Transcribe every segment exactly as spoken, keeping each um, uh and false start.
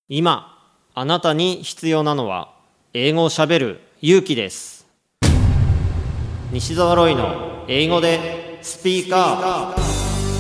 今あなたに必要なのは英語をしゃべる勇気です。西澤ロイの英語でスピーカー。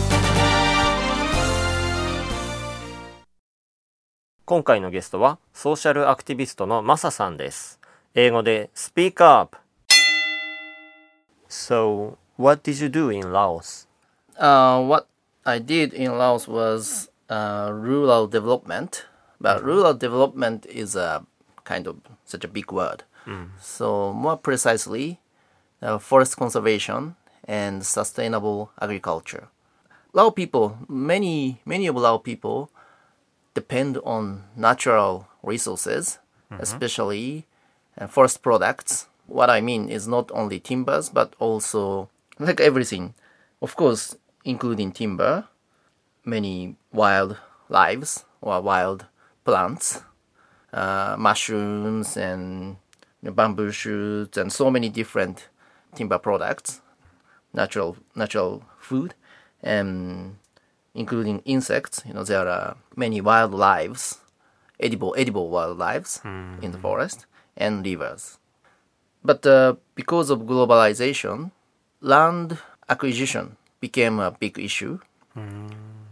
今回のゲストはソーシャルアクティビストのマサさんです。英語でスピーカー。So, what did you do in Laos? Uh, what I did in Laos was uh, rural development, but rural development is a kind of such a big word. Mm. So more precisely, uh, forest conservation and sustainable agriculture. Lao people, many many of Lao people depend on natural resources, mm-hmm. especially uh, forest products. What I mean is not only timbers, but also like everything. Of course, including timber, many wild lives or wild plants, uh, mushrooms and you know, bamboo shoots and so many different timber products, natural natural food, and including insects. You know, there are many wild lives, edible edible wild lives mm-hmm. in the forest and rivers. But uh, because of globalization, land acquisition became a big issue mm.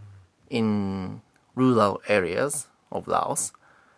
in rural areas of Laos.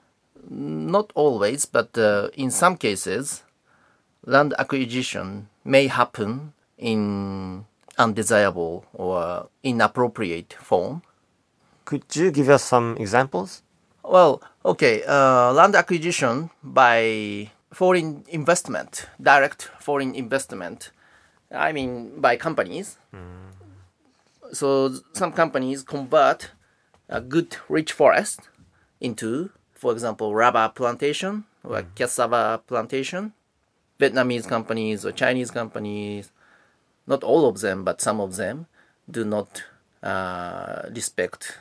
Not always, but uh, in some cases, land acquisition may happen in undesirable or inappropriate form. Could you give us some examples? Well, okay, uh, land acquisition by foreign investment, direct foreign investment, I mean by companies. Mm. So some companies convert a good rich forest into, for example, rubber plantation or mm. cassava plantation. Vietnamese companies or Chinese companies, not all of them, but some of them, do not uh, respect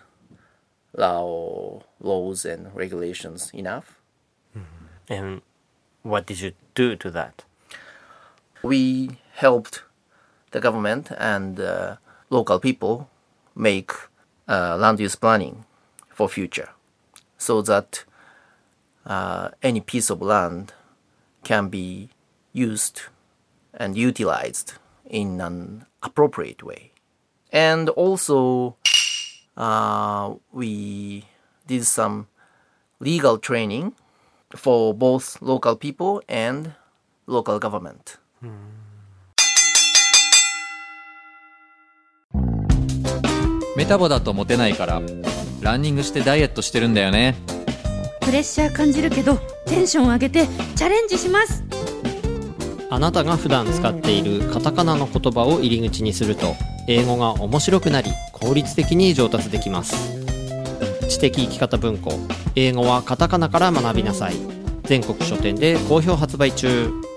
Lao laws and regulations enough. Mm-hmm. And what did you do to that? We helped the government and uh, local people make uh, land use planning for future, so that uh, any piece of land can be used and utilized in an appropriate way. And also, uh, we did some legal training for both local people and local government. Hmm. メタボだとモテないからランニングしてダイエットしてるんだよね。 プレッシャー感じるけどテンション上げてチャレンジします。 あなたが普段使っているカタカナの言葉を入り口にすると英語が面白くなり効率的に上達できます。知的生き方文庫、英語はカタカナから学びなさい。全国書店で好評発売中。